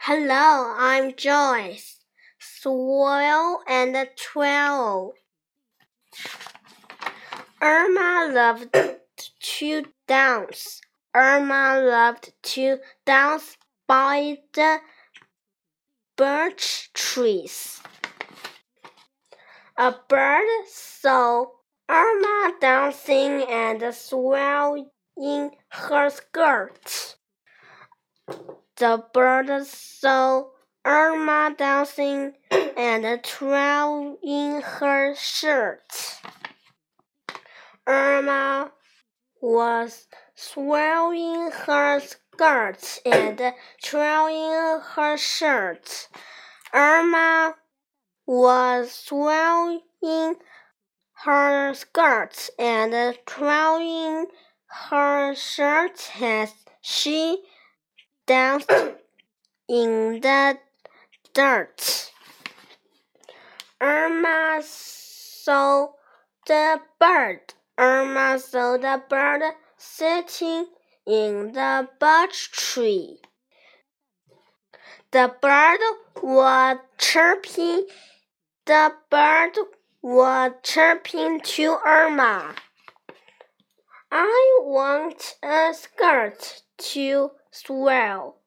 Hello, I'm Joyce. Swirl and Twirl. Irma loved to dance. Irma loved to dance by the birch trees. A bird saw Irma dancing and swirling her skirt. The bird saw Irma dancing and twirling her shirt. Irma was swirling her skirt and twirling her shirt. Irma was swirling her skirt and twirling her shirt as she danced in the dirt. Irma saw the bird. Irma saw the bird sitting in the birch tree. The bird was chirping. The bird was chirping to Irma. I want a skirt to swirl,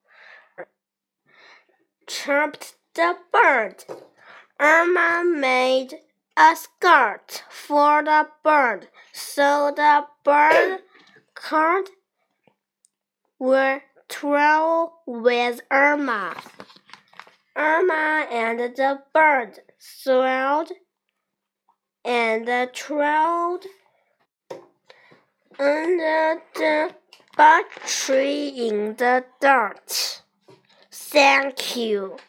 chirped the bird. Irma made a skirt for the bird, so the bird could twirl with Irma. Irma and the bird swirled and twirled under the birch tree in the dirt. Thank you.